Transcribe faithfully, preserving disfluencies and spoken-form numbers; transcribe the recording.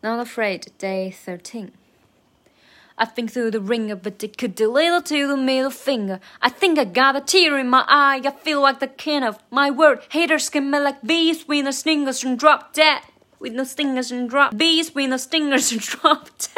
Not Afraid, Day thirteen. I think through the ring of a dick, a little to the middle finger. I think I got a tear in my eye. I feel like the king of my word. Haters can me like bees with no stingers and drop dead. With no stingers and drop bees with no stingers and drop dead.